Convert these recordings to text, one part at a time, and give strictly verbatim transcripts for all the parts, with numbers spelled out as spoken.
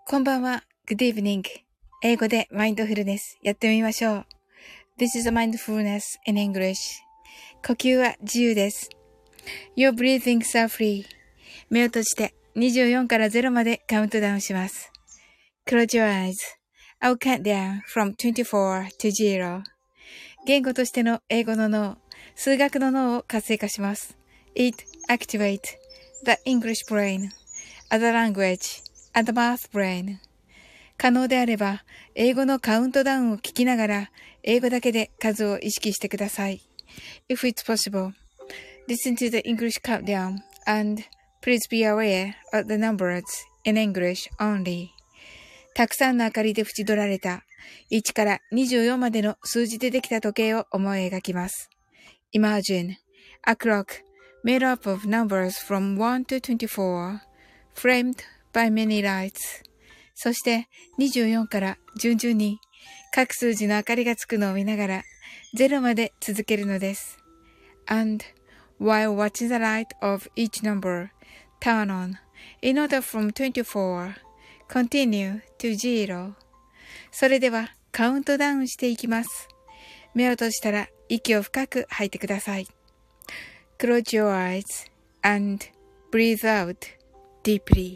こんばんは。Good evening. 英語でマインドフルネスやってみましょう。This is a mindfulness in English. 呼吸は自由です。Your breathings are free. 目を閉じてにじゅうよんからゼロまでカウントダウンします。Close your eyes. I'll count down from twenty-four to zero. 言語としての英語の脳、数学の脳を活性化します。It activates the English brain, other language, and the math brain. 可能であれば、英語のカウントダウンを聞きながら、英語だけで数を意識してください。If it's possible, listen to the English countdown and please be aware of the numbers in English only. たくさんの明かりで縁取られたいちからにじゅうよんまでの数字でできた時計を思い描きます。Imagine a clock made up of numbers from one to twenty-four, framed by many lights. そしてにじゅうよんから順々に各数字の明かりがつくのを見ながらゼロまで続けるのです。And while watching the light of each number turn on in order from twenty-four, continue to zero. それではカウントダウンしていきます。目を閉じたら息を深く吐いてください。Close your eyes and breathe out deeply.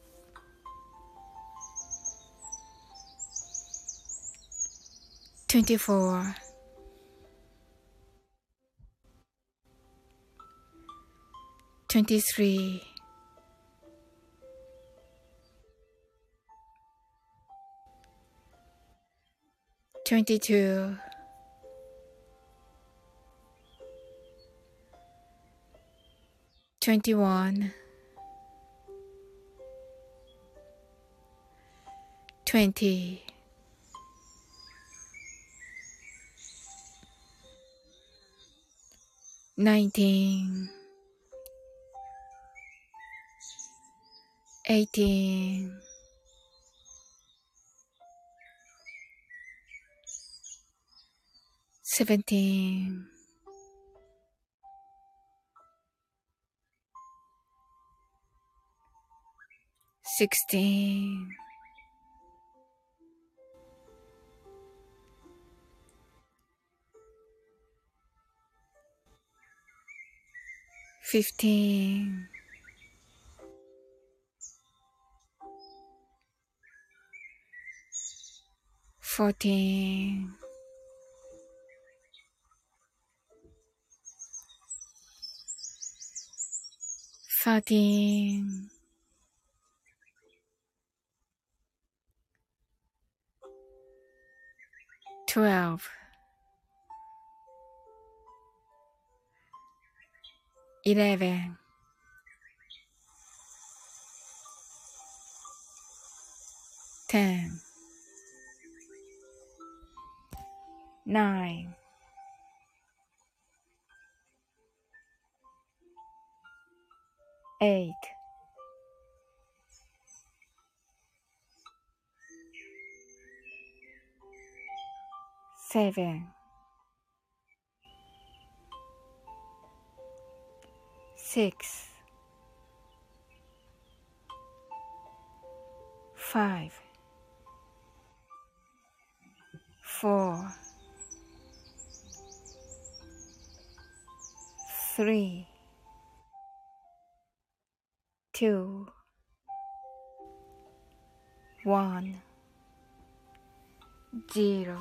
twenty-four, twenty-three, twenty-two, twenty-one, twenty, nineteen, eighteen, seventeen, sixteen, fifteen, fourteen, thirteen, twelve, eleven, ten, nine, eight, seven, six, five, four, three, two, one, zero.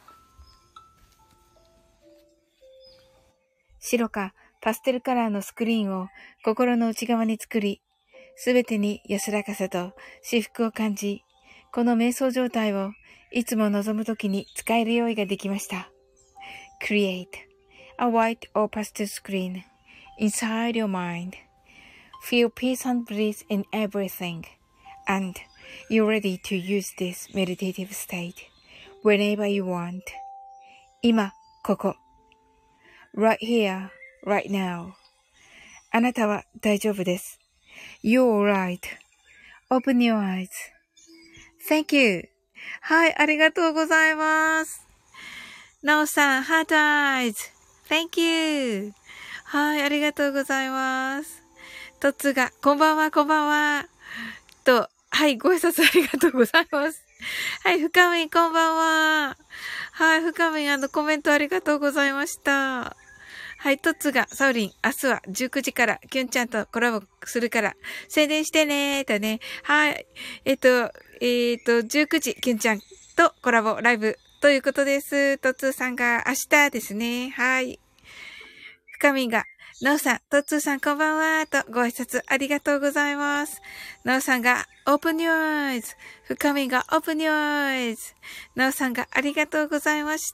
白かパステルカラーのスクリーンを心の内側に作り、すべてに安らかさと至福を感じ、この瞑想状態をいつも望むときに使える用意ができました。Create a white or pastel screen inside your mind. Feel peace and bliss in everything. And you're ready to use this meditative state whenever you want. 今、ここ。Right here, right now. あなたは大丈夫です。You're right. Open your eyes. Thank you. はい、ありがとうございます。なおさん、ハートアイズ。Thank you. はい、ありがとうございます。トッツーが、こんばんは、こんばんは。と、 はい、ご挨拶ありがとうございます。はい、深みんこんばんは。はい、深みんあのコメントありがとうございました。はい、トッツが、サウリン、明日はじゅうくじから、キュンちゃんとコラボするから、宣伝してねーとね。はい。えっと、えっと、じゅうくじ、キュンちゃんとコラボライブということです。トッツーさんが明日ですね。はい。深みんが、なおさん、トッツーさんこんばんはとご挨拶ありがとうございます。なおさんが、Open Your Eyes。深みんが Open Your Eyes。なおさんがありがとうございました。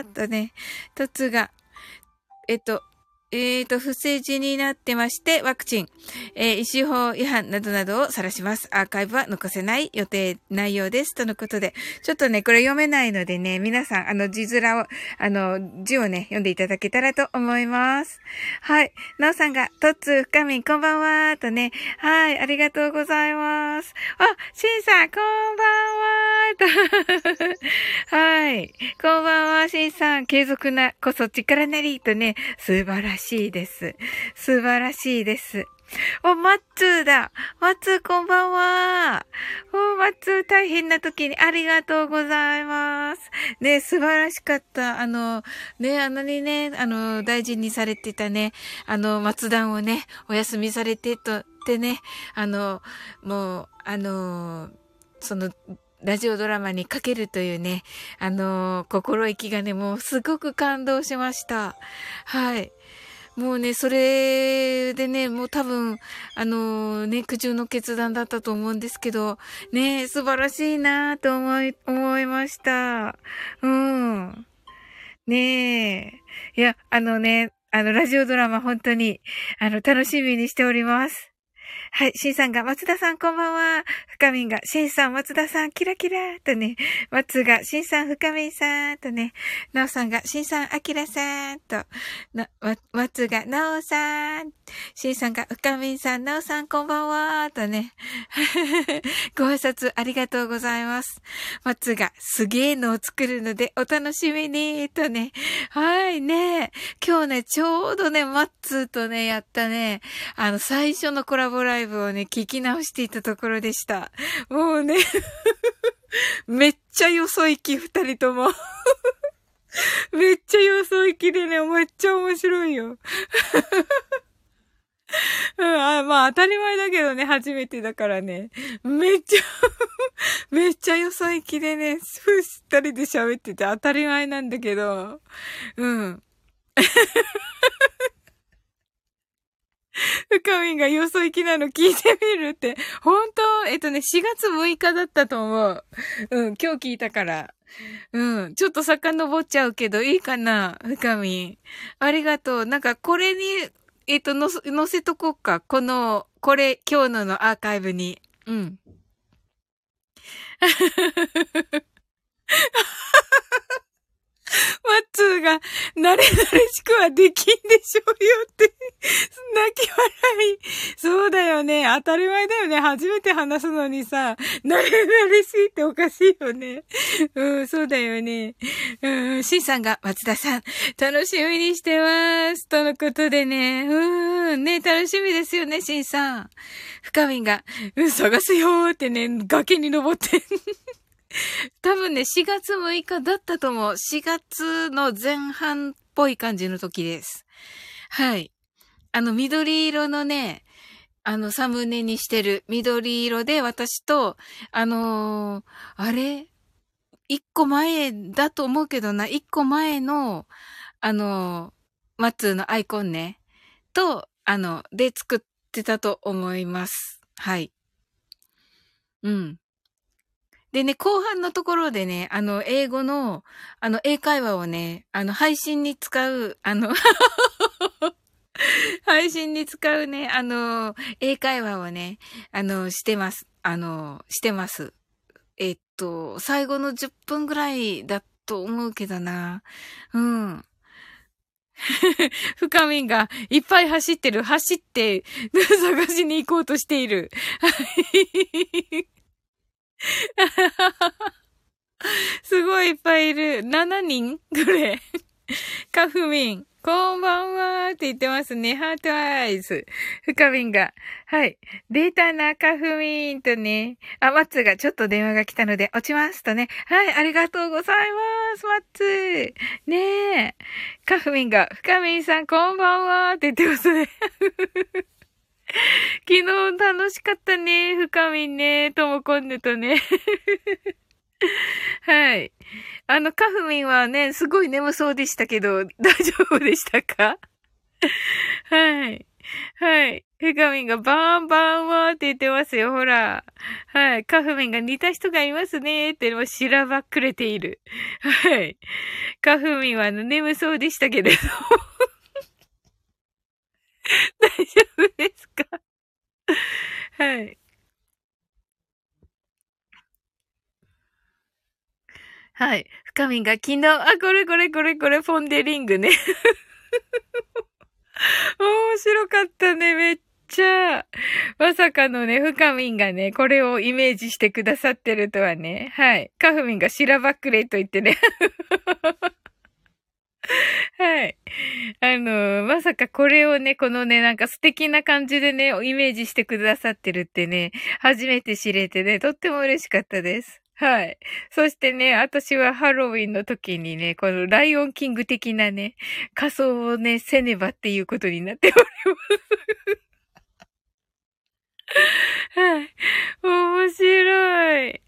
とね、トッツーが、えっと、えっと、不正字になってまして、ワクチン、えー、医師法違反などなどを晒します。アーカイブは残せない予定内容です。とのことで、ちょっとね、これ読めないのでね、皆さん、あの、字面を、あの、字をね、読んでいただけたらと思います。はい。なおさんが、トッツー、深みん、こんばんは、とね、はい、ありがとうございます。あ、シンさん、こんばんは、と。はい。こんばんは、シンさん、継続なこそ力なり、とね、素晴らしい。素晴らしいです。素晴らしいです。お、マッツーだ。マッツーこんばんは。お、マッツー大変な時にありがとうございます。ね、素晴らしかった。あの、ね、あんなにね、あの、大事にされてたね、あの、松段をね、お休みされてとってね、あの、もう、あの、その、ラジオドラマにかけるというね、あの、心意気がね、もうすごく感動しました。はい。もうね、それでね、もう多分、あのー、ね、苦渋の決断だったと思うんですけど、ね、素晴らしいなと思い、思いました。うん。ねえ。いや、あのね、あの、ラジオドラマ本当に、あの、楽しみにしております。はい、シンさんが、松田さんこんばんは。深みんが、シンさん、松田さん、キラキラとね、松が、シンさん、深みんさんとね、なおさんが、シンさん、アキラさんと、な、わ、松が、なおさん、シンさんが、深みんさん、なおさん、こんばんはとね、ご挨拶ありがとうございます。松が、すげーのを作るので、お楽しみにとね、はいね、今日ね、ちょうどね、マッツーとね、やったね、あの、最初のコラボライブをね、聞き直していたところでした。もうね、めっちゃよそ行き、二人とも。めっちゃよそ行きでね、めっちゃ面白いよ。うん、あ、まあ当たり前だけどね、初めてだからね。めっちゃめっちゃよそ行きでね、二人で喋ってて当たり前なんだけど、うん。深みんがよそ行きなの聞いてみるって、本当えっとね、しがつむいかだったと思う。うん、今日聞いたから。うん、ちょっと遡っちゃうけど、いいかな深みん。ありがとう。なんか、これに、えっと、のせ、載せとこうか。この、これ、今日ののアーカイブに。うん。マッツーが、慣れ慣れしくはできんでしょうよって、泣き笑い。そうだよね。当たり前だよね。初めて話すのにさ、慣れ慣れしいっておかしいよね。うん、そうだよね。うん、シンさんが、松田さん、楽しみにしてます。とのことでね。うん、ね、楽しみですよね、シンさん。深みんが、うん、探すよーってね、崖に登って。多分ね、しがつむいかだったと思う。しがつの前半っぽい感じの時です。はい。あの、緑色のね、あの、サムネにしてる緑色で私と、あのー、あれ一個前だと思うけどな、一個前の、あのー、マッツーのアイコンね、と、あの、で作ってたと思います。はい。うん。でね、後半のところでね、あの、英語の、あの、英会話をね、あの、配信に使う、あの、配信に使うね、あの、英会話をね、あの、してます。あの、してます。えっと、最後のじゅっぷんぐらいだと思うけどな。うん。深みんがいっぱい走ってる。走って、探しに行こうとしている。すごいいっぱいいる。しちにんぐらい。カフミン。 こんばんはって言ってますね。ハートアイズ。深みんが。はい。出たな、カフミンとね。あ、マッツーがちょっと電話が来たので落ちますとね。はい、ありがとうございます、マッツー。ねえ。カフミンが、深みんさんこんばんはって言ってますね。昨日楽しかったね、深みんね。ともこんぬとね。はい。あの、カフミンはね、すごい眠そうでしたけど、大丈夫でしたか？はい。はい。フカミンがバーンバーンワーって言ってますよ、ほら。はい。カフミンが似た人がいますねって、もうしらばっくれている。はい。カフミンはあの眠そうでしたけれど。大丈夫ですか？はい。はい。深みんが昨日、あ、これこれこれこれ、フォンデリングね。面白かったね、めっちゃ。まさかのね、深みんがね、これをイメージしてくださってるとはね。はい。カフミンがしらばっくれと言ってね。はい。あの、まさかこれをね、このね、なんか素敵な感じでね、イメージしてくださってるってね、初めて知れてね、とっても嬉しかったです。はい。そしてね、私はハロウィンの時にね、このライオンキング的なね、仮装をね、せねばっていうことになっております。はい。面白い。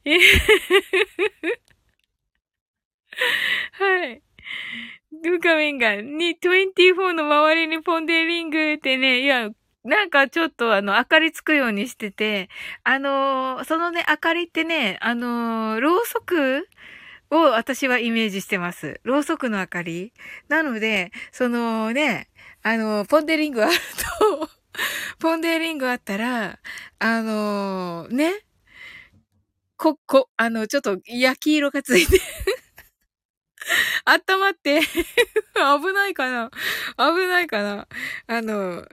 はい。ルカミンが、に、にじゅうよんの周りにポンデリングってね、いや、なんかちょっとあの、明かりつくようにしてて、あのー、そのね、明かりってね、あのー、ろうそくを私はイメージしてます。ろうそくの明かり。なので、そのね、あのー、ポンデリングあると、ポンデリングあったら、あのー、ね、こ、こ、あの、ちょっと焼き色がついて温まって危ないかな危ないかなあの、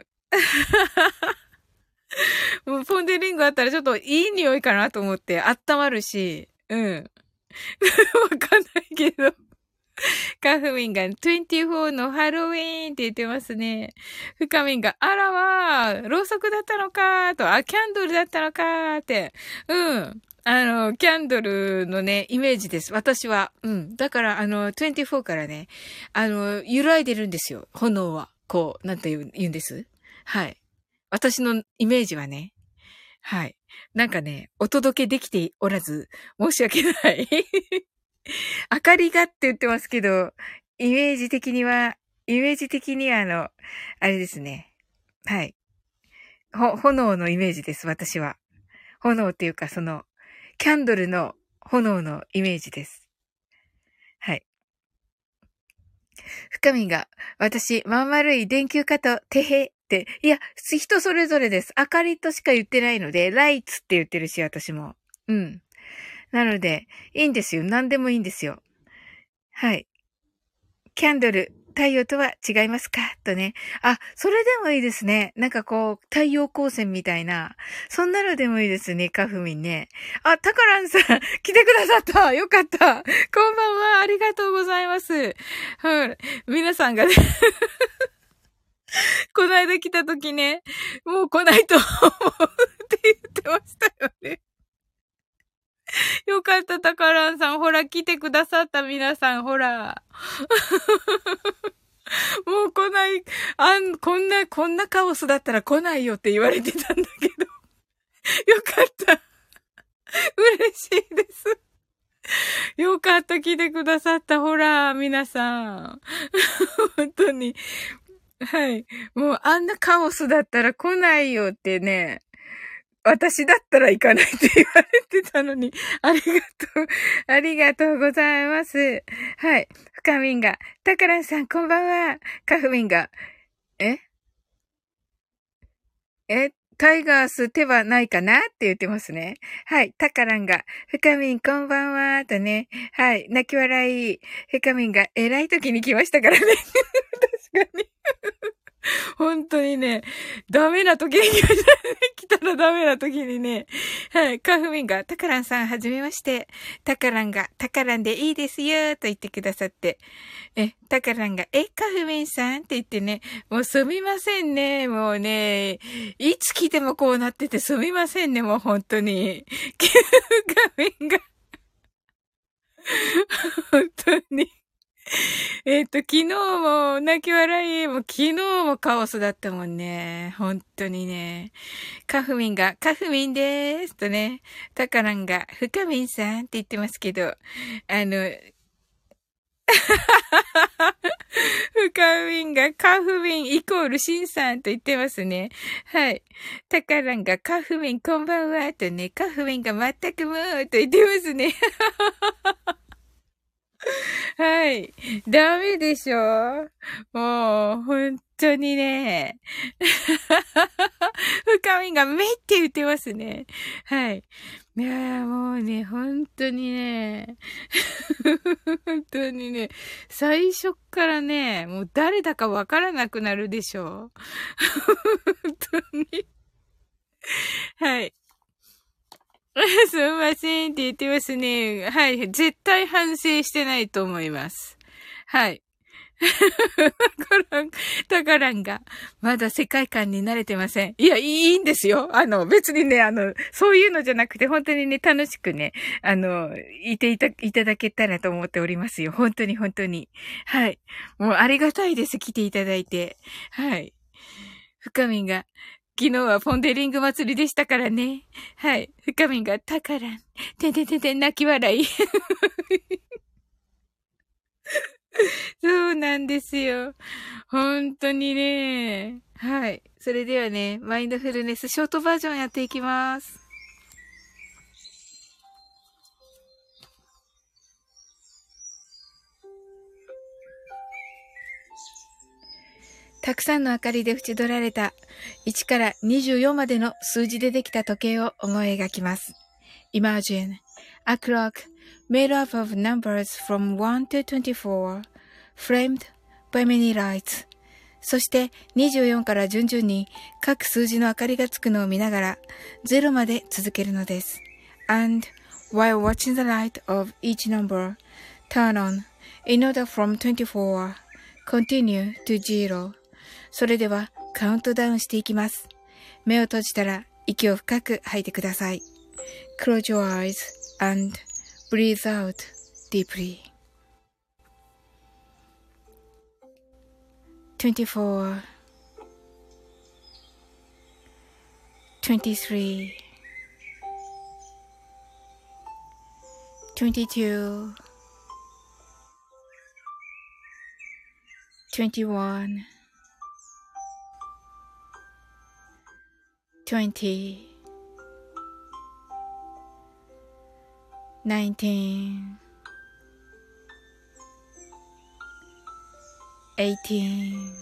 もうポンデリングあったらちょっといい匂いかなと思って温まるし、うん。わかんないけど。カフミンがにじゅうよんのハロウィーンって言ってますね。フカミンが、あらわー、ろうそくだったのかーと、あ、キャンドルだったのかーって。うん。あの、キャンドルのね、イメージです。私は。うん。だから、あの、にじゅうよんからね、あの、揺らいでるんですよ。炎は。こう、なんて言う言うんです？はい。私のイメージはね。はい。なんかね、お届けできておらず、申し訳ない。明かりがって言ってますけど、イメージ的には、イメージ的にはあの、あれですね。はい。ほ、炎のイメージです、私は。炎っていうか、その、キャンドルの炎のイメージです。はい。深みが、私、まん丸い電球かと、てへって、いや、人それぞれです。明かりとしか言ってないので、ライツって言ってるし、私も。うん。なので、いいんですよ。何でもいいんですよ。はい。キャンドル、太陽とは違いますかとね。あ、それでもいいですね。なんかこう、太陽光線みたいな。そんなのでもいいですね、カフミンね。あ、タカランさん、来てくださった。よかった。こんばんは。ありがとうございます。はい。皆さんがね、この間来た時ね、もう来ないと思うって言ってましたよね。よかった、タカランさん。ほら、来てくださった皆さん、ほら。もう来ない、あん、こんな、こんなカオスだったら来ないよって言われてたんだけど。よかった。嬉しいです。よかった、来てくださった。ほら、皆さん。本当に。はい。もうあんなカオスだったら来ないよってね。私だったら行かないって言われてたのに、ありがとう、ありがとうございます。はい。深みんが、タカランさんこんばんは。カフミンが、ええタイガース手はないかなって言ってますね。はい。タカランが、深みんこんばんは。とね。はい。泣き笑い。深みんが、偉い時に来ましたからね。確かに。 本当にね、ダメな時に来たらダメな時にね、はい、カフミンが、タカランさんはじめまして、タカランが、タカランでいいですよ、と言ってくださって、え、タカランが、え、カフミンさんって言ってね、もうすみませんね、もうね、いつ来てもこうなっててすみませんね、もう本当に。カフミンが、本当に。えっと、昨日も泣き笑い、もう昨日もカオスだったもんね。本当にね。カフミンが、カフミンでーすとね、タカランが、フカミンさんって言ってますけど、あの、フカミンがカフミンイコールシンさんと言ってますね。はい。タカランがカフミンこんばんはとね、カフミンが全くもうと言ってますね。はい。ダメでしょもう、本当にね。深みがめって言ってますね。はい。いやーもうね、本当にね。本当にね。最初っからね、もう誰だかわからなくなるでしょ本当に。はい。すみませんって言ってますね。はい。絶対反省してないと思います。はい。タカラン、タカランが、まだ世界観に慣れてません。いや、いいんですよ。あの、別にね、あの、そういうのじゃなくて、本当にね、楽しくね、あの、いていた、いただけたらと思っておりますよ。本当に本当に。はい。もうありがたいです。来ていただいて。はい。深みんが、昨日はポンデリング祭りでしたからね。はい。深みんが、タカラン、てんてんてんてん泣き笑い。そうなんですよ。本当にね。はい。それではね、マインドフルネスショートバージョンやっていきます。たくさんの明かりで縁取られたいちからにじゅうよんまでの数字でできた時計を思い描きます。Imagine a clock made up of numbers from one to twenty-four, framed by many lights. そしてにじゅうよんから順々に各数字の明かりがつくのを見ながらゼロまで続けるのです。And while watching the light of each number turn on in order from twenty-four, continue to zero. それではカウントダウンしていきます。目を閉じたら息を深く吐いてください。Close your eyes and breathe out deeply.twenty-four, twenty-three, twenty-two, twenty-one, twenty, nineteen, eighteen,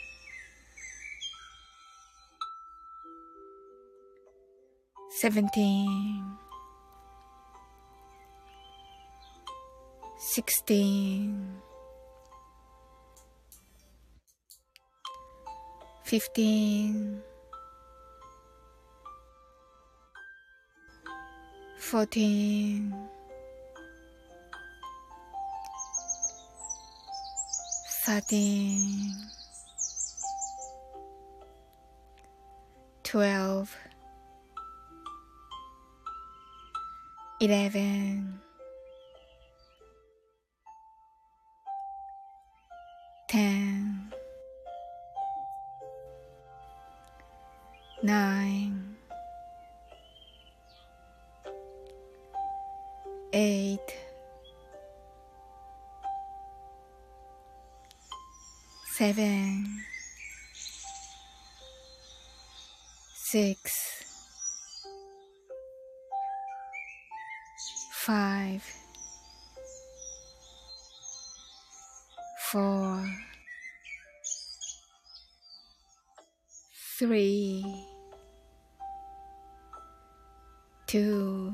seventeen, sixteen, fifteen, fourteen, thirteen, twelve, eleven, ten, nine, eight, seven, six, five, four, three, two,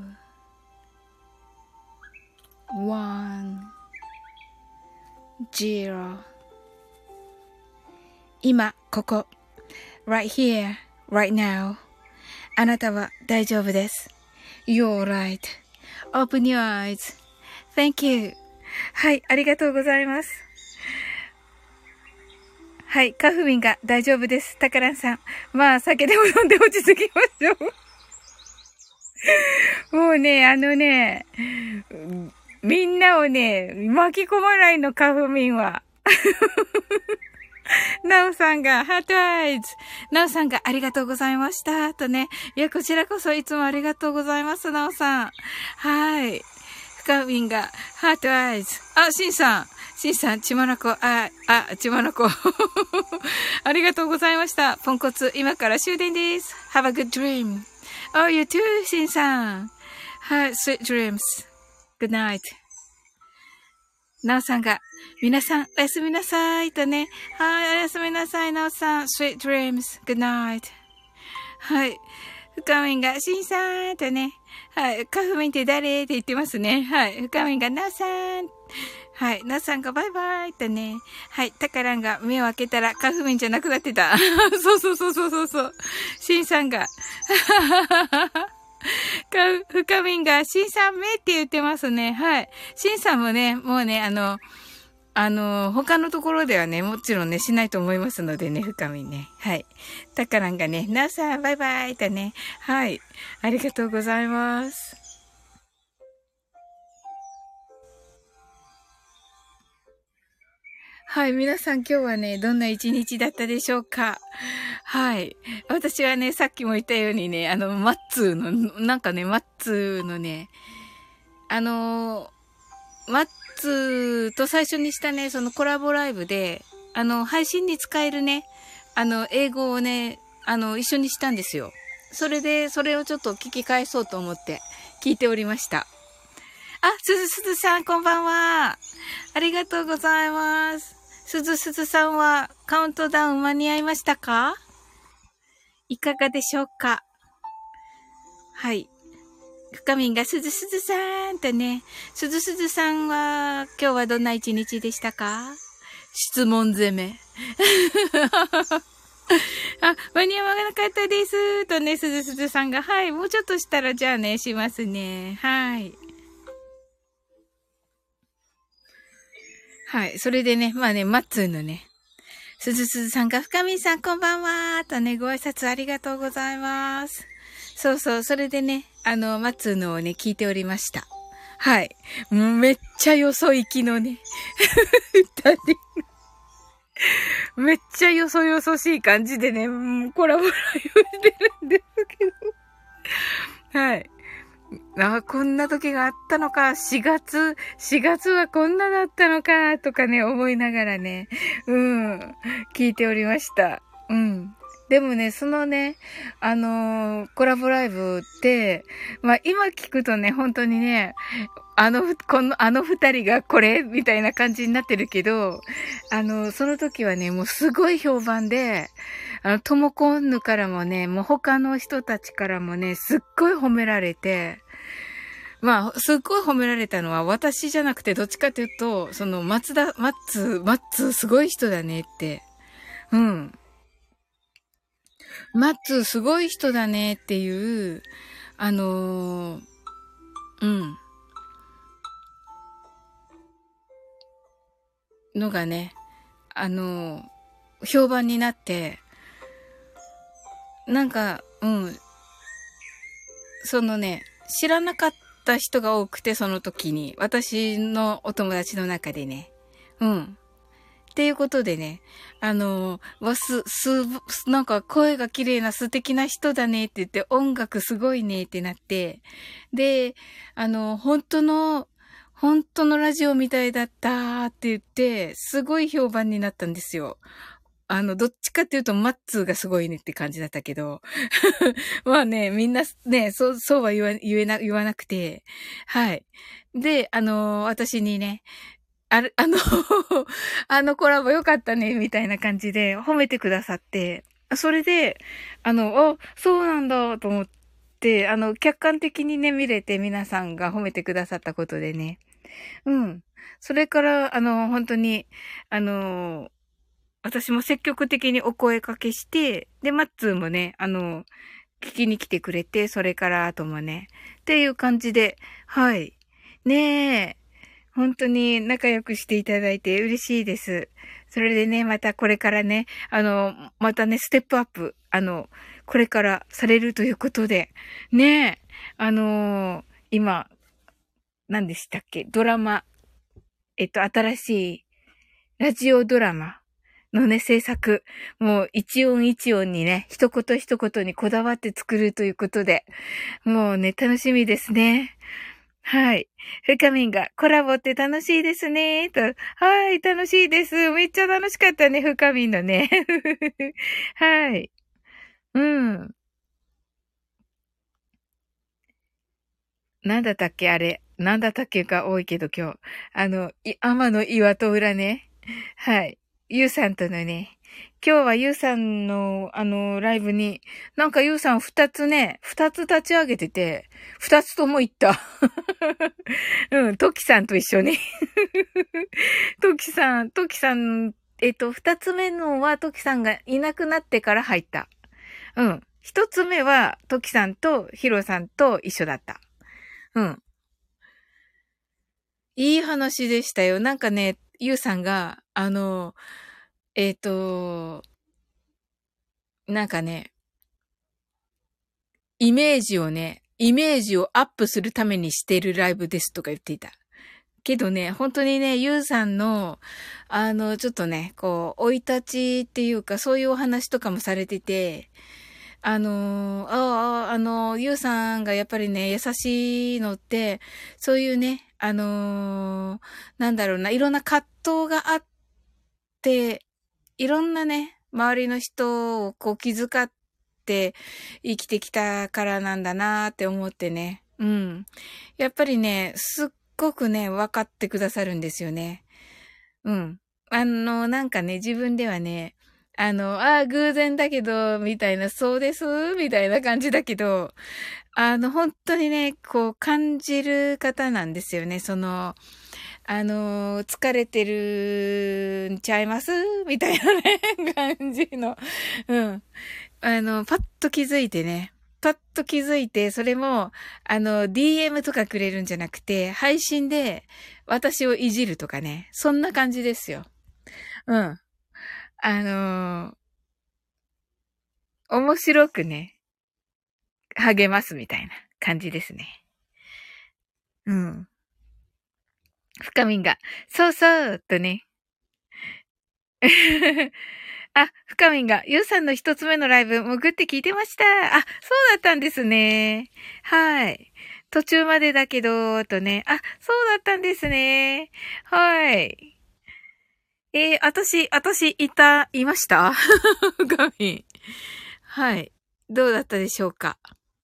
one, zero. 今、ここ。right here, right now. あなたは大丈夫です。You're right.Open your eyes.Thank you. はい、ありがとうございます。はい、カフミンが大丈夫です。タカランさん。まあ、酒でも飲んで落ち着きましょう。もうね、あのね、みんなをね、巻き込まないの、カフミンは。ナオさんが、ハートアイズ。ナオさんがありがとうございました。とね。いや、こちらこそいつもありがとうございます、ナオさん。はい。深みんが、ハートアイズ。あ、シンさん。シンさん、ちまなこ、あ、あ、ちまなこ。ありがとうございました。ポンコツ、今から終電です。Have a good dream.Oh, you too, シンさん。はい、sweet dreams.Good night.なおさんが、皆さん、おやすみなさい。とね。はい、おやすみなさい、なおさん。Sweet dreams. Good night. はい。深みんが、しんさん。とね。はい。カフミンって誰って言ってますね。はい。深みんが、なおさん。はい。なおさんが、バイバイ。とね。はい。タカランが、目を開けたら、カフミンじゃなくなってた。そうそうそうそうそうそう。しんさんが、か、深みんが、しんさんめって言ってますね。はい。しんさんもね、もうね、あの、あの、他のところではね、もちろんね、しないと思いますのでね、深みんね。はい。たからんがね、なおさん、バイバイとね。はい。ありがとうございます。はい。皆さん今日はね、どんな一日だったでしょうか？はい。私はね、さっきも言ったようにね、あの、マッツーの、なんかね、マッツーのね、あの、マッツーと最初にしたね、そのコラボライブで、あの、配信に使えるね、あの、英語をね、あの、一緒にしたんですよ。それで、それをちょっと聞き返そうと思って聞いておりました。あ、すずすずさん、こんばんは。ありがとうございます。すずすずさんはカウントダウン間に合いましたか？いかがでしょうか？はい。深みんがすずすずさんとね、すずすずさんは今日はどんな一日でしたか？質問攻め。あ、間に合わなかったですとね、すずすずさんが、はい、もうちょっとしたらじゃあね、しますね。はい。はい。それでね、まあね、マッツーのね、すずすずさんが、深みさんこんばんはとね、ご挨拶ありがとうございます。そうそう、それでね、あの、マッツーのをね、聞いておりました。はい。めっちゃよそ行きのね、二人。めっちゃよそよそしい感じでね、コラボライブしてるんですけど。はい。あ、こんな時があったのか、しがつ、しがつはこんなだったのか、とかね、思いながらね、うん、聞いておりました。うん。でもね、そのね、あのー、コラボライブって、まあ今聞くとね、本当にね、あの、この、あの二人がこれみたいな感じになってるけど、あの、その時はね、もうすごい評判で、あの、ともこんぬからもね、もう他の人たちからもね、すっごい褒められて、まあ、すっごい褒められたのは私じゃなくて、どっちかというと、その、松田、マッツー、マッツーすごい人だねって。うん。マッツーすごい人だねっていう、あのー、うん。のがね、あのー、評判になって、なんか、うん。そのね、知らなかった人が多くて、その時に。私のお友達の中でね。うん。っていうことでね、あの、わす、す、なんか声が綺麗な素敵な人だねって言って、音楽すごいねってなって、で、あの、本当の、本当のラジオみたいだったって言って、すごい評判になったんですよ。あの、どっちかっていうと、マッツーがすごいねって感じだったけど。まあね、みんなね、そう、そうは言わ、言えな、言わなくて。はい。で、あの、私にね、ある、あのあのコラボ良かったね、みたいな感じで褒めてくださって、それで、あの、あ、そうなんだ、と思って、あの、客観的にね、見れて皆さんが褒めてくださったことでね。うん。それから、あの、本当に、あの、 私も積極的にお声かけして、で、マッツーもね、あの、聞きに来てくれて、それから後もね、っていう感じで、はい。ねえ、本当に仲良くしていただいて嬉しいです。それでね、またこれからね、あの、またね、ステップアップ、あの、これからされるということで、ねえ、あのー今、何でしたっけ、ドラマ、えっと、新しいラジオドラマのね、制作、もう一音一音にね、一言一言にこだわって作るということで、もうね、楽しみですね。はい。ふかみんが、コラボって楽しいですね、と。はい、楽しいです。めっちゃ楽しかったね、ふかみんのね。はい。うん。なんだったっけ、あれ。なんだったっけが多いけど今日。あの、い、天の岩戸裏ね。はい。ゆうさんとのね。今日はゆうさんの、あの、ライブに、なんかゆうさん二つね、二つ立ち上げてて、二つとも行った。うん、トキさんと一緒に。トキさん、トキさん、えっと、二つ目のはトキさんがいなくなってから入った。うん。一つ目はトキさんとヒロさんと一緒だった。うん。いい話でしたよ。なんかね、ゆうさんが、あの、えっと、なんかね、イメージをね、イメージをアップするためにしてるライブですとか言っていた。けどね、本当にね、ゆうさんの、あの、ちょっとね、こう、生い立ちっていうか、そういうお話とかもされてて、あの、ああ、あの、ゆうさんがやっぱりね、優しいのって、そういうね、あの、なんだろうな、いろんな葛藤があって、いろんなね、周りの人をこう気遣って生きてきたからなんだなって思ってね。うん。やっぱりね、すっごくね、分かってくださるんですよね。うん。あの、なんかね、自分ではね、あの、ああ、偶然だけど、みたいな、そうです、みたいな感じだけど、あの、本当にね、こう、感じる方なんですよね。その、あの、疲れてるんちゃいますみたいなね、感じの。うん。あの、パッと気づいてね。パッと気づいて、それも、あの、ディーエム とかくれるんじゃなくて、配信で私をいじるとかね。そんな感じですよ。うん。あの、面白くね、励ますみたいな感じですね。うん。深みんが、そうそう、とね。あ、深みんが、ゆうさんの一つ目のライブ、潜って聞いてました。あ、そうだったんですね。はい。途中までだけど、とね。あ、そうだったんですね。はい。えー、私、私、いた、いました深みん。はい。どうだったでしょうか。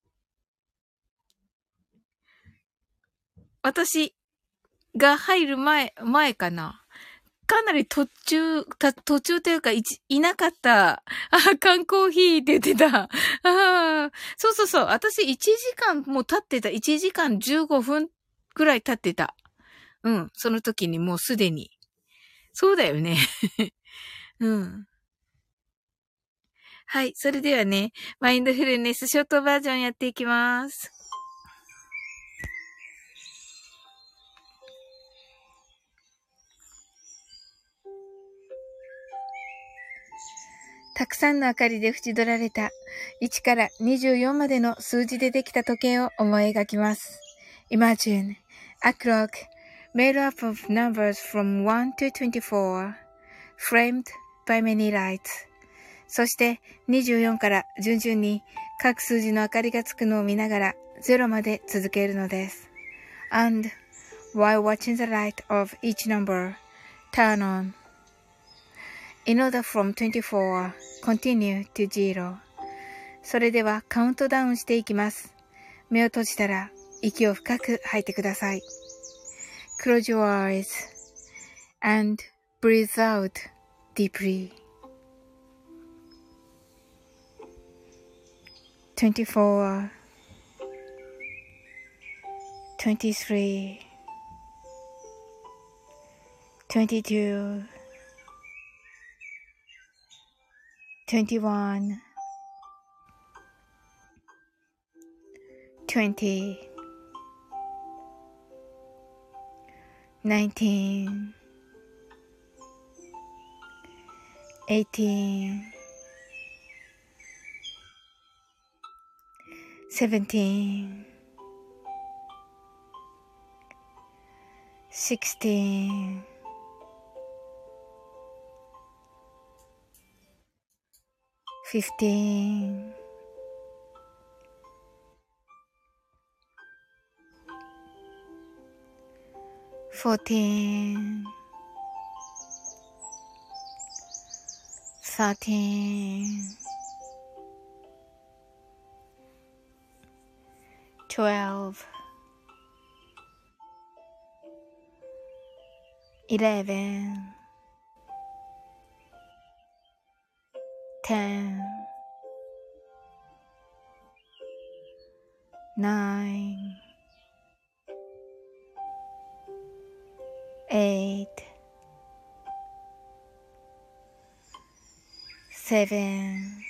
私が入る前、前かな。かなり途中、た、途中というか、いち、いなかった。あ、缶コーヒーって言ってた。ああ、そうそうそう。私いちじかんもう経ってた。いちじかんじゅうごふんくらい経ってた。うん。その時にもうすでに。そうだよね。うん。はい。それではね、マインドフルネスショートバージョンやっていきます。たくさんの明かりで縁取られたいちからにじゅうよんまでの数字でできた時計を思い描きます。Imagine a clock made up of numbers from one to twenty-four, framed by many lights. そしてにじゅうよんから順々に各数字の明かりがつくのを見ながらゼロまで続けるのです。And while watching the light of each number turn on.In order from twenty-four, continue to zero. それではカウントダウンしていきます。目を閉じたら息を深く吐いてください。Close your eyes and breathe out deeply. twenty-four, twenty-three, twenty-two, twenty-one, twenty, nineteen, eighteen, seventeen, sixteen, fifteen, fourteen, thirteen, twelve, eleven, ten, nine, eight, seven,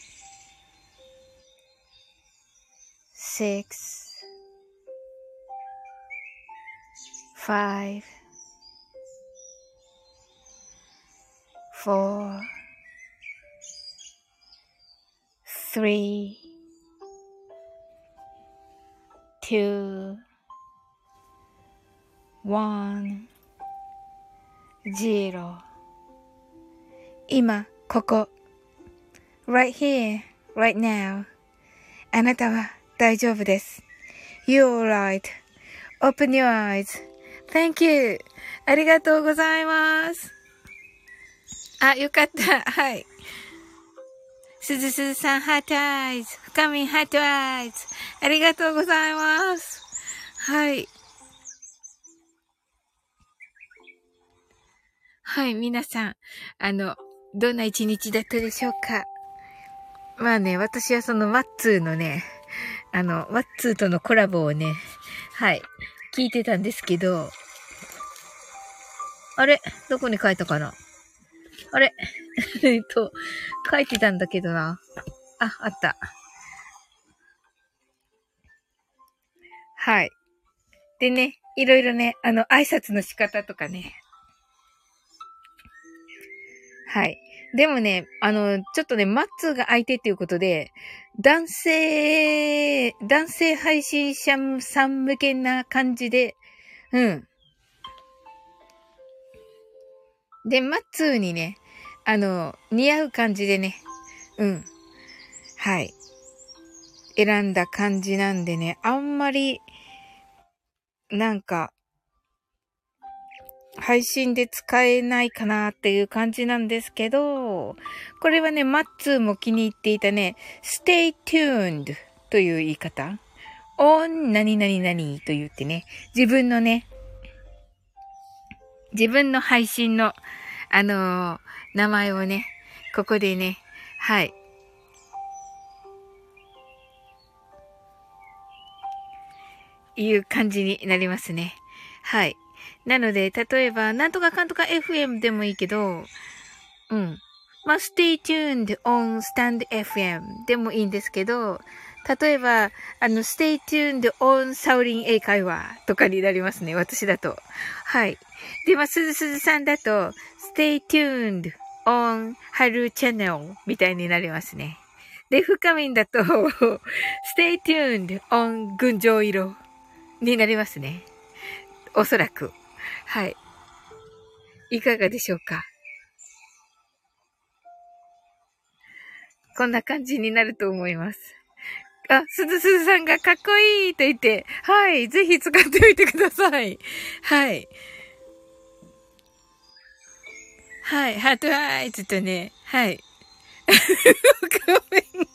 six, five, four, three, two, one, zero. 今、ここ。right here, right now. あなたは大丈夫です。You're right.Open your eyes. Thank you. ありがとうございます。あ、よかった。はい。すずすずさん、ハートアイズ。深みん、ハートアイズ。ありがとうございます。はい。はい、皆さん。あの、どんな一日だったでしょうか。まあね、私はそのマッツーのね、あの、マッツーとのコラボをね、はい。聞いてたんですけど、あれどこに書いたかなあれえっと、書いてたんだけどな。あ、あった。はい。でね、いろいろね、あの、挨拶の仕方とかね。はい。でもね、あの、ちょっとね、マッツーが相手っていうことで、男性、男性配信者さん向けな感じで、うん。で、マッツーにね、あの、似合う感じでね、うん。はい。選んだ感じなんでね、あんまり、なんか、配信で使えないかなっていう感じなんですけど、これはね、マッツーも気に入っていたね、stay tuned という言い方。on 何々々と言ってね、自分のね、自分の配信の、あのー、名前をね、ここでね、はい。いう感じになりますね。はい。なので、例えば、なんとかかんとか エフエム でもいいけど、うん。まあ、stay tuned on stand エフエム でもいいんですけど、例えば、あの、stay tuned on サウリン英会話とかになりますね。私だと。はい。で、まあ、すずすずさんだと、stay tuned on 春 channel みたいになりますね。で、深みんだと、stay tuned on 群青色になりますね。おそらく。はい。いかがでしょうか。こんな感じになると思います。あ、すずすずさんがかっこいいと言って、はい。ぜひ使ってみてください。はい。はい。ハートアイズとね、はい。ごめん。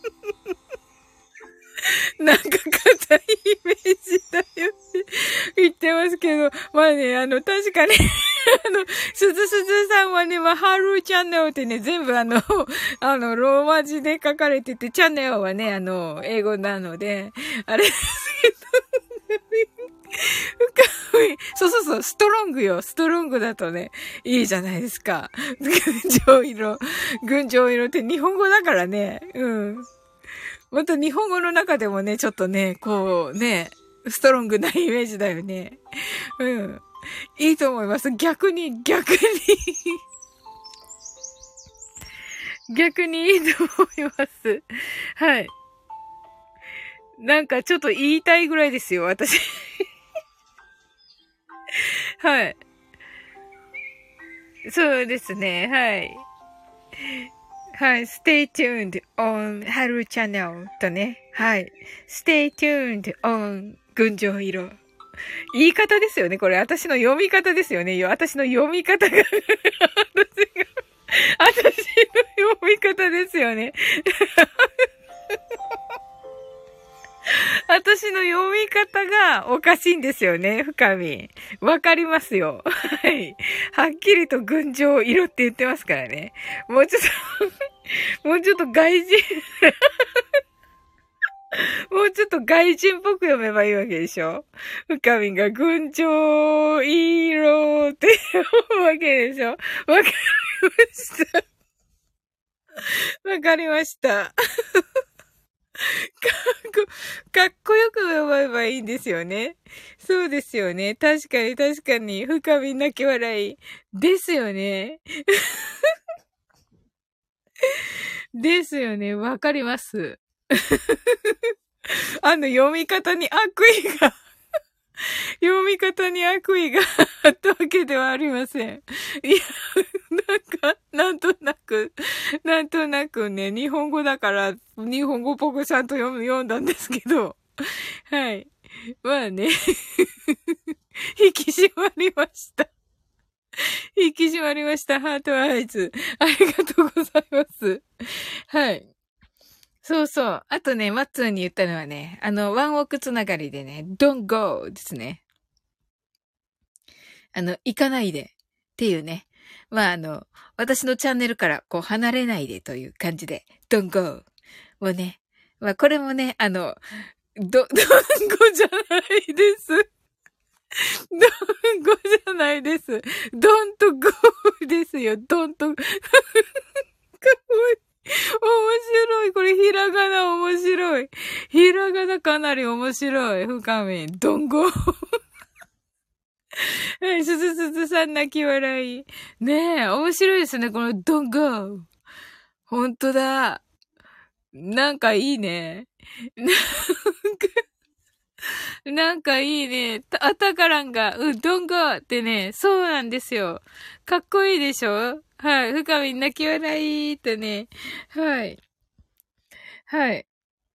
なんか硬いイメージだよって言ってますけど、まあね、あの、確かにあの、すずすずさんはね、まあ、ハルーチャンネルってね、全部あの、あの、ローマ字で書かれてて、チャンネルはね、あの、英語なので、あれですけど、深い。そうそうそう、ストロングよ。ストロングだとね、いいじゃないですか。群青色。群青色って日本語だからね。うん。また日本語の中でもね、ちょっとね、こうね、ストロングなイメージだよね。うん。いいと思います。逆に、逆に逆にいいと思います。はい。なんかちょっと言いたいぐらいですよ、私。はい。そうですね、はい。はい。stay tuned on 春チャンネルとね。はい。stay tuned on 群青色。言い方ですよね、これ。私の読み方ですよね。私の読み方が私が、私の読み方ですよね。私の読み方がおかしいんですよね、深み。わかりますよ。はい。はっきりと群青色って言ってますからね。もうちょっと、もうちょっと外人、もうちょっと外人っぽく読めばいいわけでしょ。深みが群青色って読むわけでしょ。わかりました。わかりました。かっこ、かっこよく読めばいいんですよね。そうですよね。確かに確かに。深み泣き笑い。ですよね。ですよね。わかります。あの読み方に悪意が読み方に悪意があったわけではありません。いや、なんか、なんとなく、なんとなくね、日本語だから、日本語っぽくちゃんと読む、読んだんですけど、はい。まあね、引き締まりました。引き締まりました。ハートアイズ。ありがとうございます。はい。そうそう。あとね、マッツーに言ったのはね、あの、ワンオクつながりでね、don't go ですね。あの、行かないでっていうね。まあ、あの、私のチャンネルからこう離れないでという感じで、don't go をね。まあ、これもね、あの、ど、どんごじゃないです。どんごじゃないです。don't go ですよ。don't go 面白い。これ、ひらがな面白い。ひらがなかなり面白い。深み。どんご。はい、すずすずさん泣き笑い。ねえ、面白いですね。このどんご。ほんとだ。なんかいいね。なんか、なんかいいね。た、あたからんが、うん、どんごってね、そうなんですよ。かっこいいでしょ？はい。深み泣き笑いってね。はい。はい。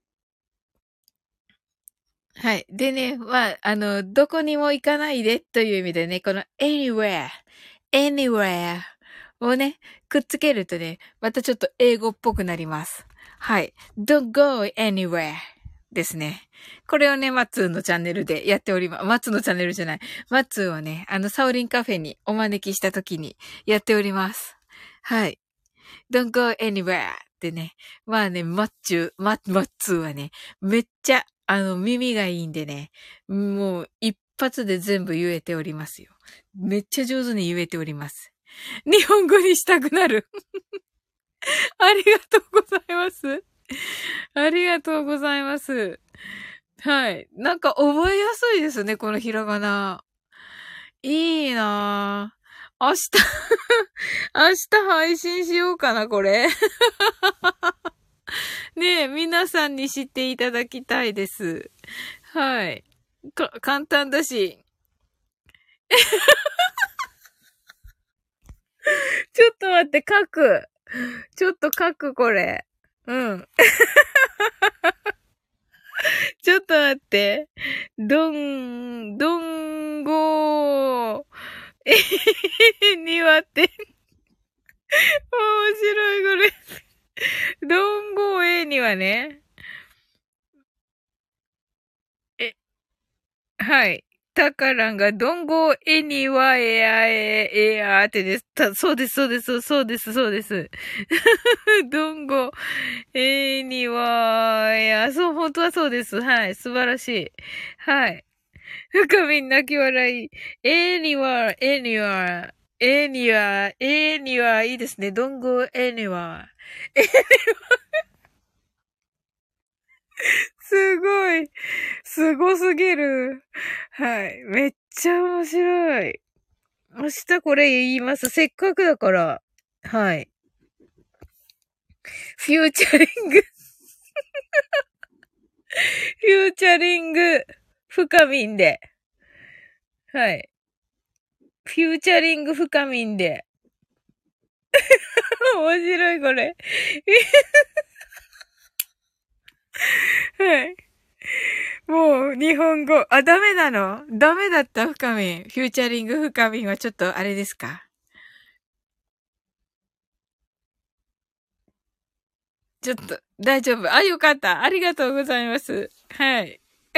はい。でね、まあ、あの、どこにも行かないでという意味でね、この anywhere, anywhere をね、くっつけるとね、またちょっと英語っぽくなります。はい。don't go anywhere ですね。これをね、マッツーのチャンネルでやっております。マッツーのチャンネルじゃない。マッツーをね、あの、サオリンカフェにお招きした時にやっております。はい。don't go anywhere ってね。まあね、マッチュー、マッ、マッツーはね、めっちゃ、あの、耳がいいんでね、もう一発で全部言えておりますよ。めっちゃ上手に言えております。日本語にしたくなる。ありがとうございます。ありがとうございます。はい。なんか覚えやすいですね、このひらがな。いいなぁ。明日明日配信しようかな、これ。ねえ、皆さんに知っていただきたいです。はい。か、簡単だし。ちょっと待って、書く。ちょっと書く、これ。うん。ちょっと待って。どん、どんごー。えへへへ、庭って。面白い、これ。どんごーえにはね。え、はい。タカランが、どんごえにはえあええあってです。た、そうです、そうです、そうです、そうです。どんごえにはえあ、そう、本当はそうです。はい。素晴らしい。はい。 深みん泣き笑い。anywhere, anywhere, anywhere, anywhere いいですね。don't go anywhere. すごい。すごすぎる。はい。めっちゃ面白い。明日これ言います。せっかくだから。はい。フューチャリング、フューチャリング、深みんで。はい。フューチャリング深みんで。面白いこれ。はい。もう、日本語。あ、ダメなのダメだった深みん。フューチャリング深みんはちょっとあれですか？ちょっと、大丈夫。あ、よかった。ありがとうございます。はい。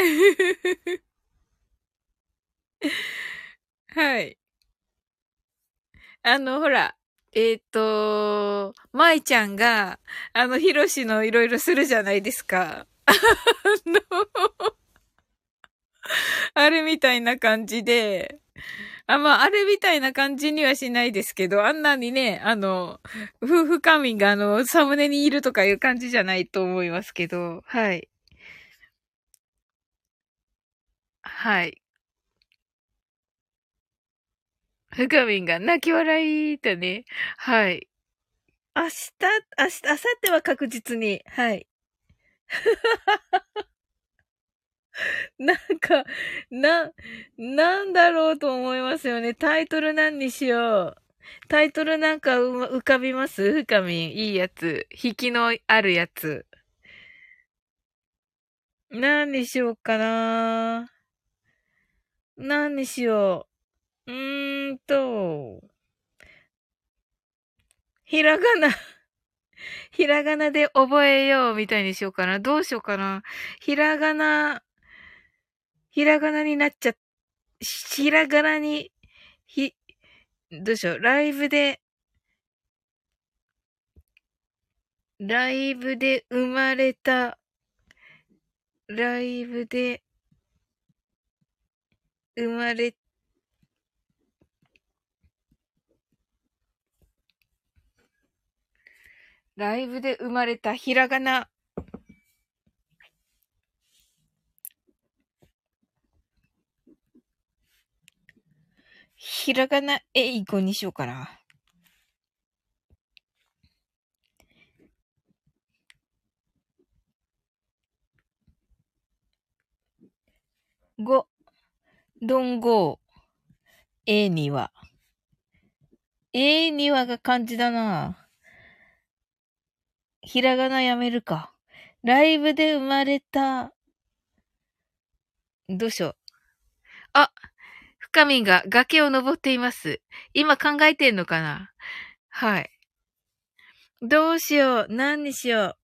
はい。あの、ほら、えっ、と、舞ちゃんが、あの、ヒロシのいろいろするじゃないですか。あの、あれみたいな感じで、あ、まあ、あれみたいな感じにはしないですけど、あんなにね、あの、夫婦仮面があの、サムネにいるとかいう感じじゃないと思いますけど、はい。はい。ふかみんが泣き笑いとね、はい。明日、明日、明後日は確実に、はい。なんか、な、なんだろうと思いますよね。タイトル何にしよう。タイトルなんかうま浮かびます深み。いいやつ。引きのあるやつ。何にしようかな。何にしよう。うーんと、ひらがな、ひらがなで覚えようみたいにしようかな。どうしようかな。ひらがな、ひらがなになっちゃ、ひらがなに、ひ、どうしよう。ライブで、ライブで生まれた、ライブで生まれ、ライブで生まれたひらがな、ひらがな英語にしようかな。ご、どんご、えには。えにはが漢字だな。ひらがなやめるか。ライブで生まれた、どうしよう。あ、深みが崖を登っています。今考えてんのかな？はい。どうしよう。何にしよう。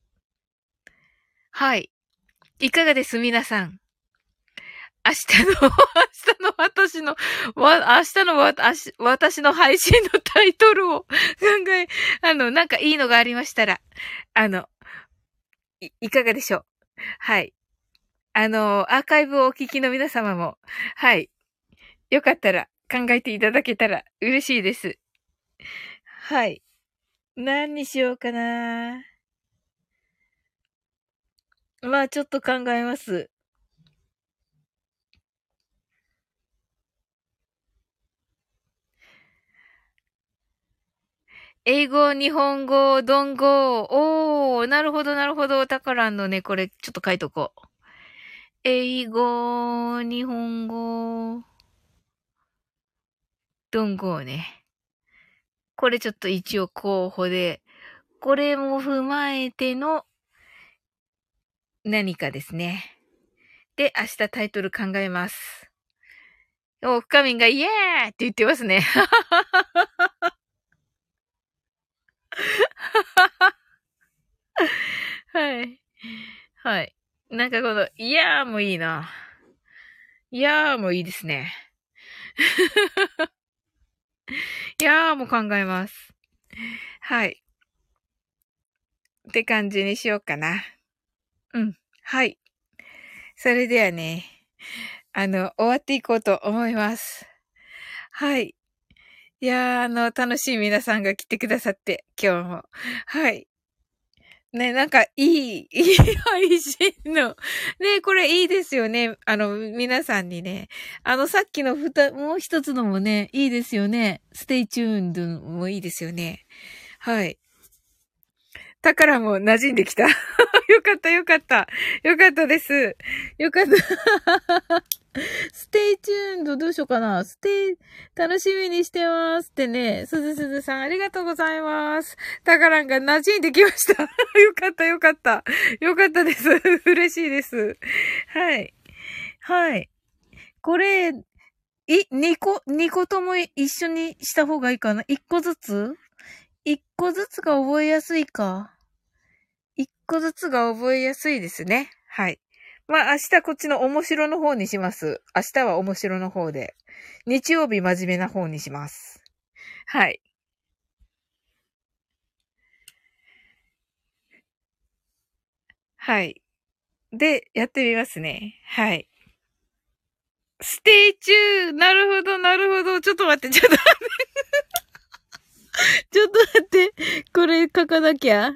はい。いかがです皆さん。明日の、明日の私の、わ、明日のわ、あし私の配信のタイトルを考え、あの、なんかいいのがありましたら、あの、い、いかがでしょう。はい。あの、アーカイブをお聞きの皆様も、はい。よかったら考えていただけたら嬉しいです。はい。何にしようかな。まあ、ちょっと考えます。英語、日本語、ド語。おー、なるほど、なるほど。タカランのね、これ、ちょっと書いとこう。英語、日本語、ド語ね。これちょっと一応候補で、これも踏まえての何かですね。で、明日タイトル考えます。お、深みんがイエーって言ってますね。はい。はい。なんかこの、いやーもいいな。いやーもいいですね。いやーも考えます。はい。って感じにしようかな。うん。はい。それではね。 あの、終わっていこうと思います。はい。いやー、あの、楽しい皆さんが来てくださって、今日も。はい。ね、なんか、いい、いい配信の。ね、これいいですよね。あの、皆さんにね。あの、さっきのふた、もう一つのもね、いいですよね。ステイチューンドもいいですよね。はい。だからもう馴染んできた。よかった、よかった。よかったです。よかった。ステイチューンドどうしようかな。ステイ、楽しみにしてますってね。すずすずさんありがとうございます。タカランが馴染んできました。よかったよかった。よかったです。嬉しいです。はい。はい。これ、い、二個、二個とも一緒にした方がいいかな。一個ずつ一個ずつが覚えやすいか。一個ずつが覚えやすいですね。はい。まあ明日こっちの面白の方にします。明日は面白の方で。日曜日真面目な方にします。はい。はい。で、やってみますね。はい。ステイチューなるほど、なるほど。ちょっと待って、ちょっと待って。ちょっと待って。これ書かなきゃ。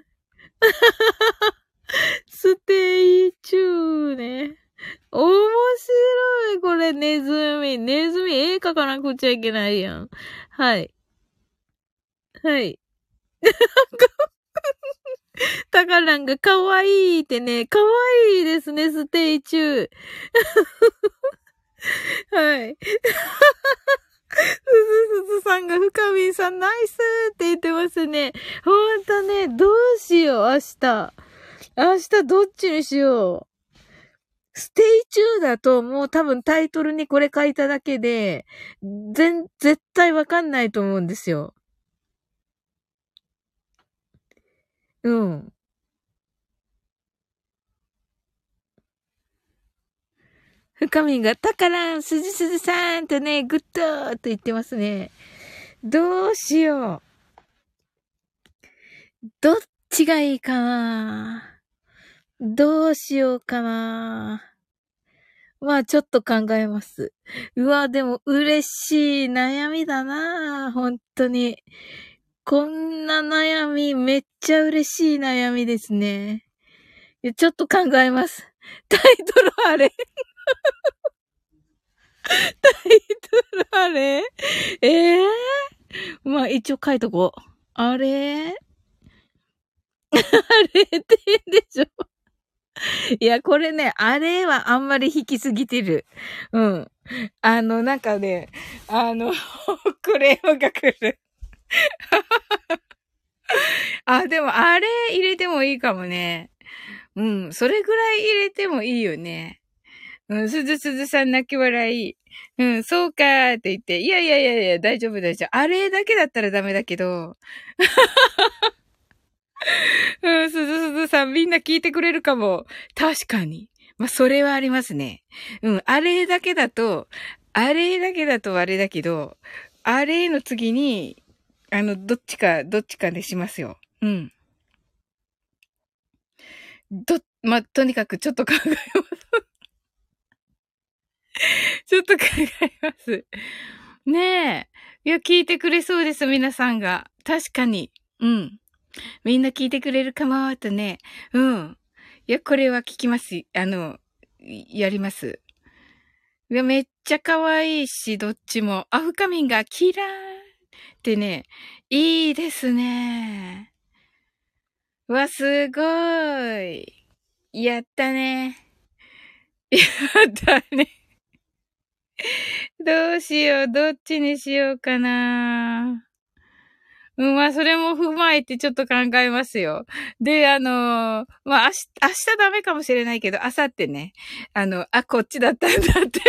ステイチューね。面白い。これ、ネズミ。ネズミ、絵描かなくちゃいけないやん。はい。はい。タカランが可愛いってね、可愛いですね、ステイチュー。はい。すずすずさんが深みんさんナイスって言ってますね。ほんとね、どうしよう、明日。明日どっちにしよう。ステイチューだともう多分タイトルにこれ書いただけで、全、絶対わかんないと思うんですよ。うん。深みんが、たからん、すずすずさんとね、グッドーと言ってますね。どうしよう。どっちがいいかな。どうしようかな。まあ、ちょっと考えます。うわ、でも嬉しい悩みだな。本当に。こんな悩み、めっちゃ嬉しい悩みですね。ちょっと考えます。タイトルあれタイトルあれええー、まあ一応書いとこう。あれあれって言うんでしょいや、これね、あれはあんまり引きすぎてる。うん。あの、なんかね、あの、クレームが来る。あ、でもあれ入れてもいいかもね。うん。それぐらい入れてもいいよね。うん。すずすずさん泣き笑い。うん、そうかーって言って。いやいやいやいや、大丈夫大丈夫。あれだけだったらダメだけど。うん、すずすずさんみんな聞いてくれるかも。確かに。まあ、それはありますね。うん、あれだけだと、あれだけだとあれだけど、あれの次に、あの、どっちか、どっちかでしますよ。うん。ど、まあ、とにかくちょっと考えます。ちょっと考えます。ねえ。いや、聞いてくれそうです、皆さんが。確かに。うん。みんな聞いてくれるかも、とね。うん。いや、これは聞きます。あの、やります。いや、めっちゃ可愛いし、どっちも。アフカミンがキラーってね、いいですね。うわ、すごい。やったね。やったね。どうしよう、どっちにしようかな。うん、まあ、それも踏まえてちょっと考えますよ。で、あのーまあ、明日、明日ダメかもしれないけど、明後日ね、あの、あ、こっちだったんだって思う。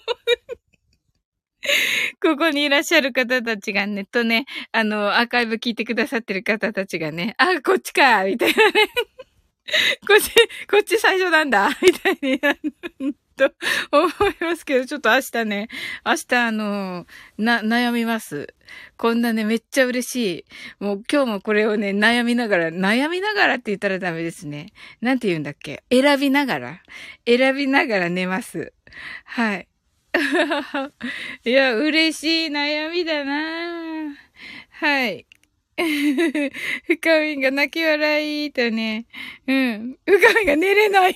ここにいらっしゃる方たちがね、とね、あの、アーカイブ聞いてくださってる方たちがね、あ、こっちかみたいなね。こっち、こっち最初なんだみたいになると思いますけど、ちょっと明日ね、明日あの、な、悩みます。こんなね、めっちゃ嬉しい。もう今日もこれをね、悩みながら、悩みながらって言ったらダメですね。なんて言うんだっけ選びながら選びながら寝ます。はい。 いや、嬉しい悩みだな。はい。深みが泣き笑いとね。うん。深みが寝れない。い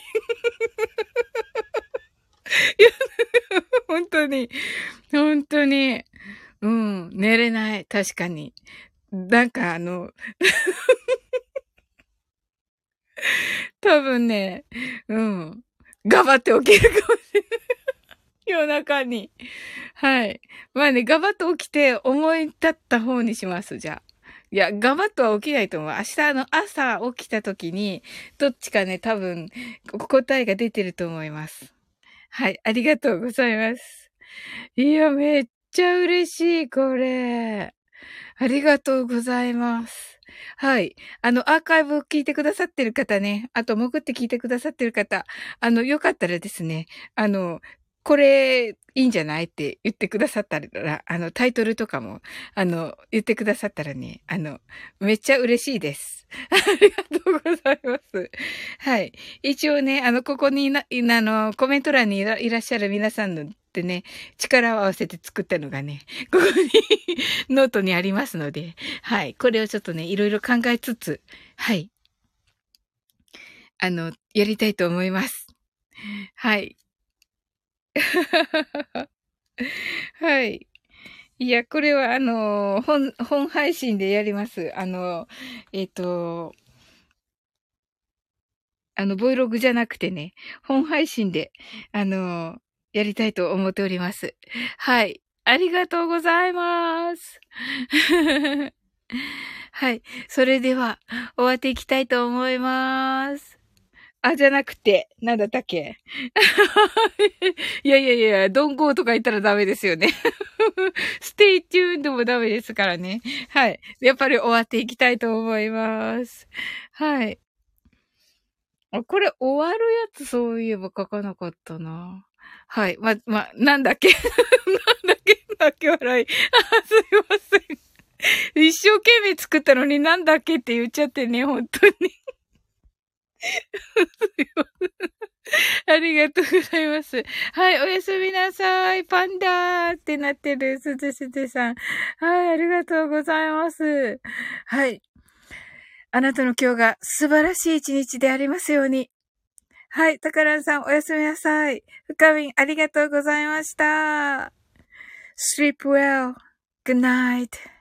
や、本当に。本当に。うん。寝れない。確かに。なんかあの、多分ね、うん。頑張って起きるかもしれない。夜中に。はい。まあね、ガバッと起きて思い立った方にします、じゃあ。いや、ガバッとは起きないと思う。明日の朝起きた時に、どっちかね、多分、答えが出てると思います。はい、ありがとうございます。いや、めっちゃ嬉しい、これ。ありがとうございます。はい。あの、アーカイブを聞いてくださってる方ね、あと、潜って聞いてくださってる方、あの、よかったらですね、あの、これ、いいんじゃないって言ってくださったら、あの、タイトルとかも、あの、言ってくださったらね、あの、めっちゃ嬉しいです。ありがとうございます。はい。一応ね、あの、ここにな、いあの、コメント欄にいらいらっしゃる皆さんのってね、力を合わせて作ったのがね、ここにノートにありますので、はい。これをちょっとね、いろいろ考えつつ、はい。あの、やりたいと思います。はい。はい。いや、これはあの、本、本配信でやります。あの、えっと、あの、Vlog じゃなくてね、本配信で、あの、やりたいと思っております。はい。ありがとうございます。はい。それでは、終わっていきたいと思います。あ、じゃなくて、なんだったっけ。いやいやいや、ドンゴーとか言ったらダメですよね。ステイチューンでもダメですからね。はい。やっぱり終わっていきたいと思います。はい。あ、これ終わるやつそういえば書かなかったな。はい。ま、ま、なんだっけ。なんだっけ泣き笑い。あ、すいません。一生懸命作ったのになんだっけって言っちゃってね、本当に。すいません。ありがとうございます。はい、おやすみなさい。パンダーってなってる、すずすずさん。はい、ありがとうございます。はい。あなたの今日が素晴らしい一日でありますように。はい、タカランさんおやすみなさい。深みんありがとうございました。Sleep well. Good night.